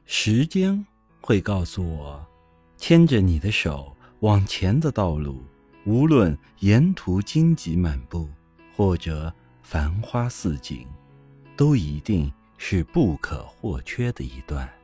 时间会告诉我，牵着你的手往前的道路，无论沿途荆棘满布，或者繁花似锦，都一定是不可或缺的一段。